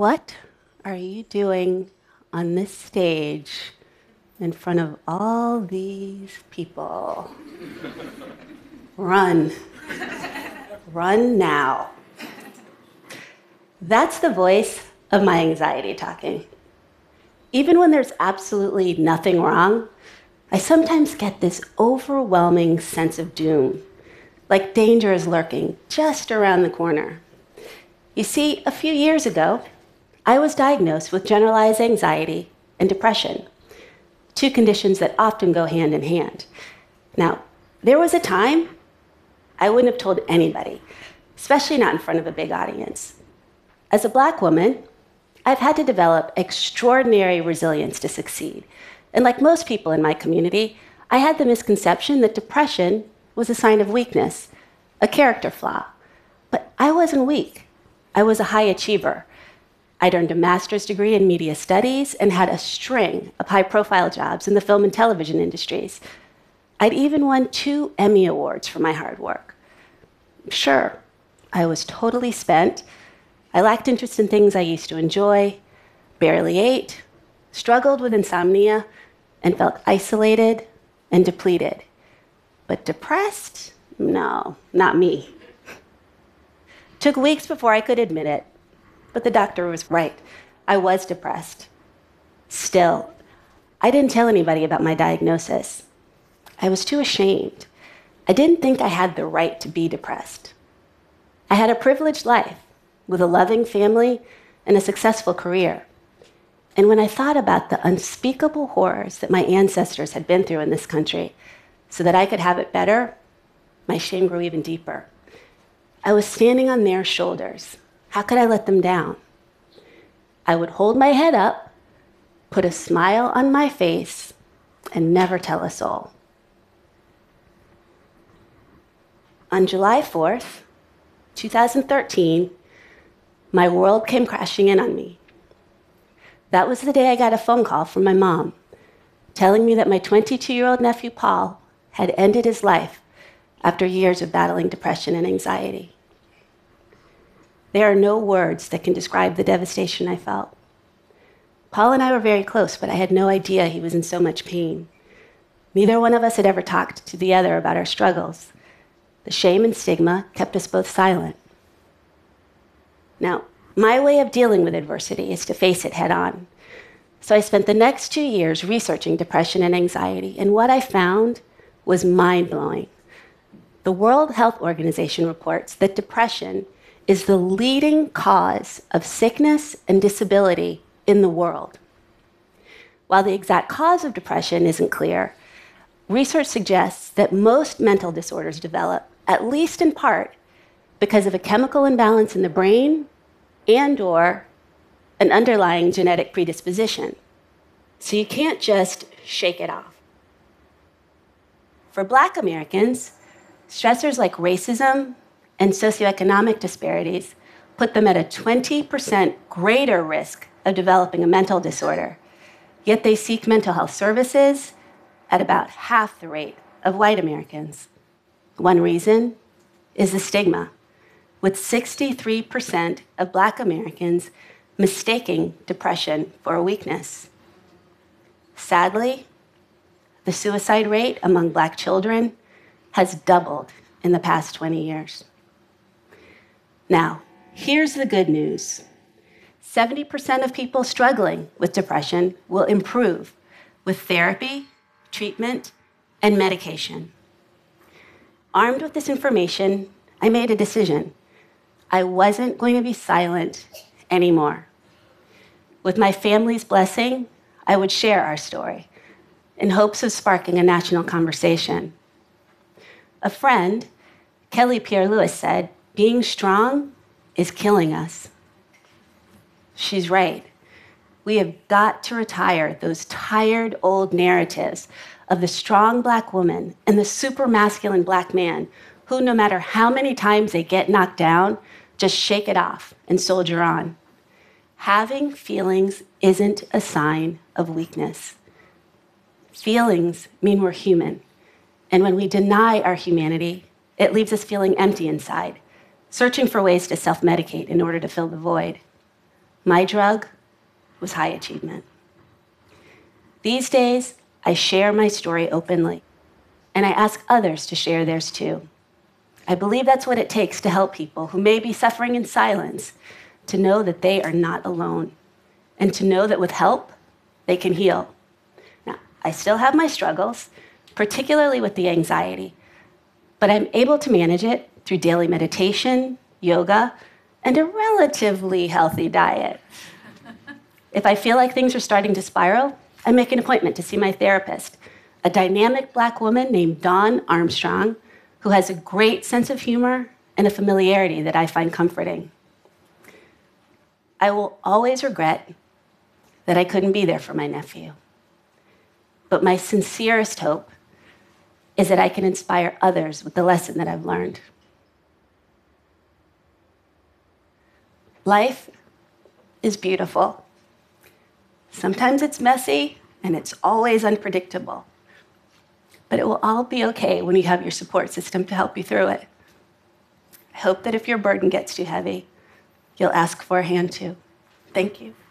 What are you doing on this stage in front of all these people? Run. Run now. That's the voice of my anxiety talking. Even when there's absolutely nothing wrong, I sometimes get this overwhelming sense of doom, like danger is lurking just around the corner. You see, a few years ago, I was diagnosed with generalized anxiety and depression, two conditions that often go hand in hand. Now, there was a time I wouldn't have told anybody, especially not in front of a big audience. As a Black woman, I've had to develop extraordinary resilience to succeed. And like most people in my community, I had the misconception that depression was a sign of weakness, a character flaw. But I wasn't weak. I was a high achiever. I'd earned a master's degree in media studies and had a string of high-profile jobs in the film and television industries. I'd even won 2 Emmy Awards for my hard work. Sure, I was totally spent. I lacked interest in things I used to enjoy, barely ate, struggled with insomnia, and felt isolated and depleted. But depressed? No, not me. Took weeks before I could admit it, but the doctor was right. I was depressed. Still, I didn't tell anybody about my diagnosis. I was too ashamed. I didn't think I had the right to be depressed. I had a privileged life with a loving family and a successful career. And when I thought about the unspeakable horrors that my ancestors had been through in this country so that I could have it better, my shame grew even deeper. I was standing on their shoulders. How could I let them down? I would hold my head up, put a smile on my face, and never tell a soul. On July 4th, 2013, my world came crashing in on me. That was the day I got a phone call from my mom telling me that my 22-year-old nephew, Paul, had ended his life after years of battling depression and anxiety. There are no words that can describe the devastation I felt. Paul and I were very close, but I had no idea he was in so much pain. Neither one of us had ever talked to the other about our struggles. The shame and stigma kept us both silent. Now, my way of dealing with adversity is to face it head on. So I spent the next 2 years researching depression and anxiety, and what I found was mind-blowing. The World Health Organization reports that depression is the leading cause of sickness and disability in the world. While the exact cause of depression isn't clear, research suggests that most mental disorders develop, at least in part, because of a chemical imbalance in the brain and/or an underlying genetic predisposition. So you can't just shake it off. For Black Americans, stressors like racism and socioeconomic disparities put them at a 20% greater risk of developing a mental disorder, yet they seek mental health services at about half the rate of white Americans. One reason is the stigma, with 63% of Black Americans mistaking depression for a weakness. Sadly, the suicide rate among Black children has doubled in the past 20 years. Now, here's the good news. 70% of people struggling with depression will improve with therapy, treatment, and medication. Armed with this information, I made a decision. I wasn't going to be silent anymore. With my family's blessing, I would share our story in hopes of sparking a national conversation. A friend, Kelly Pierre-Louis, said, "Being strong is killing us." She's right. We have got to retire those tired old narratives of the strong Black woman and the super masculine Black man who, no matter how many times they get knocked down, just shake it off and soldier on. Having feelings isn't a sign of weakness. Feelings mean we're human. And when we deny our humanity, it leaves us feeling empty inside, searching for ways to self-medicate in order to fill the void. My drug was high achievement. These days, I share my story openly, and I ask others to share theirs too. I believe that's what it takes to help people who may be suffering in silence to know that they are not alone, and to know that with help, they can heal. Now, I still have my struggles, particularly with the anxiety, but I'm able to manage it through daily meditation, yoga, and a relatively healthy diet. If I feel like things are starting to spiral, I make an appointment to see my therapist, a dynamic Black woman named Dawn Armstrong, who has a great sense of humor and a familiarity that I find comforting. I will always regret that I couldn't be there for my nephew. But my sincerest hope is that I can inspire others with the lesson that I've learned. Life is beautiful. Sometimes it's messy, and it's always unpredictable. But it will all be okay when you have your support system to help you through it. I hope that if your burden gets too heavy, you'll ask for a hand too. Thank you.